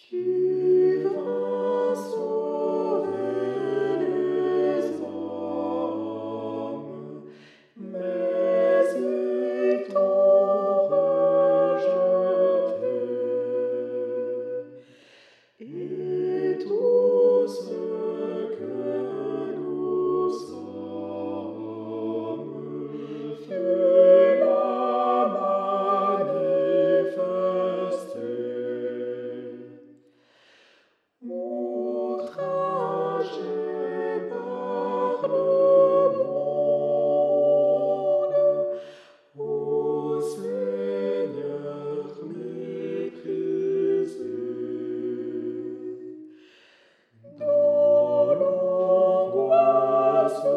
Tu vas sauver les hommes, mais ils t'ont rejeté. Et tout ce que nous sommes fut là manifesté. Outragé par le monde, ô Seigneur méprisé, dans l'angoisse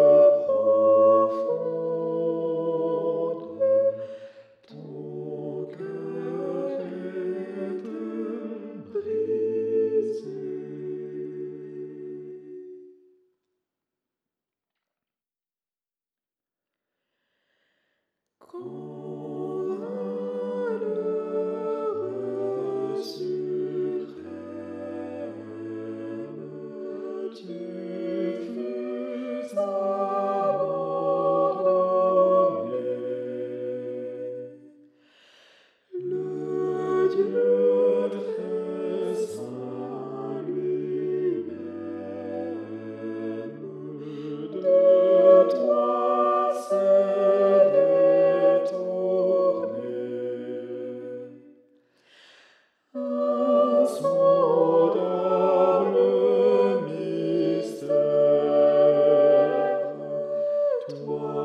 profonde, ton cœur est brisé. Quand malheureux suprême, tu fus abandonné, le Dieu très saint lui-même de toi s'est détourné. Insondable mystère, toi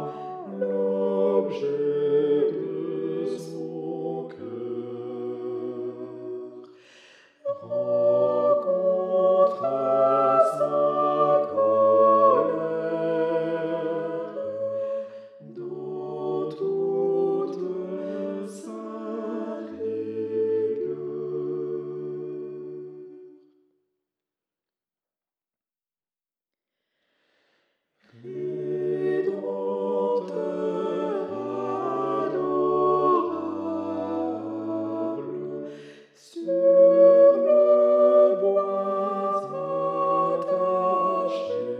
l'objet de son cœur, rencontra sa colère dans toute sa rigueur. Rédempteur adorable, sur le bois attaché,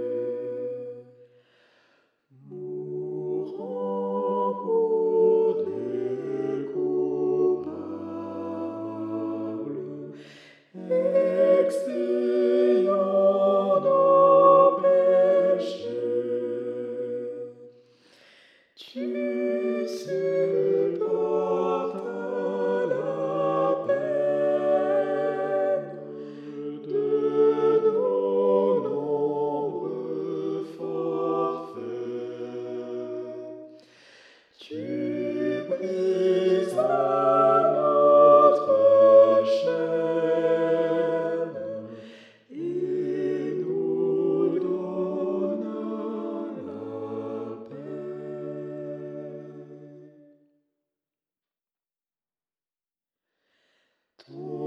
mourant pour des coupables, expiant nos péchés, tu supportas la peine de nos nombreux forfaits. Tu brisas notre chaîne et nous donnas la paix.